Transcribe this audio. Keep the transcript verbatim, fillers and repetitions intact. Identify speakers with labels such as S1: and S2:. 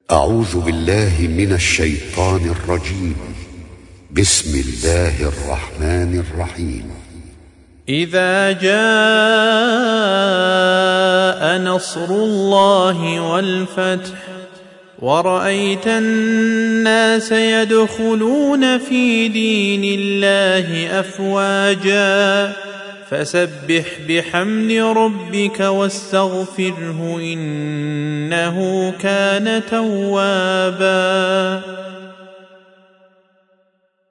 S1: أعوذ بالله من الشيطان الرجيم. بسم الله الرحمن الرحيم.
S2: إذا جاء نصر الله والفتح ورأيت الناس يدخلون في دين الله أفواجا فسبح بحمد ربك واستغفره إنه كان توابا.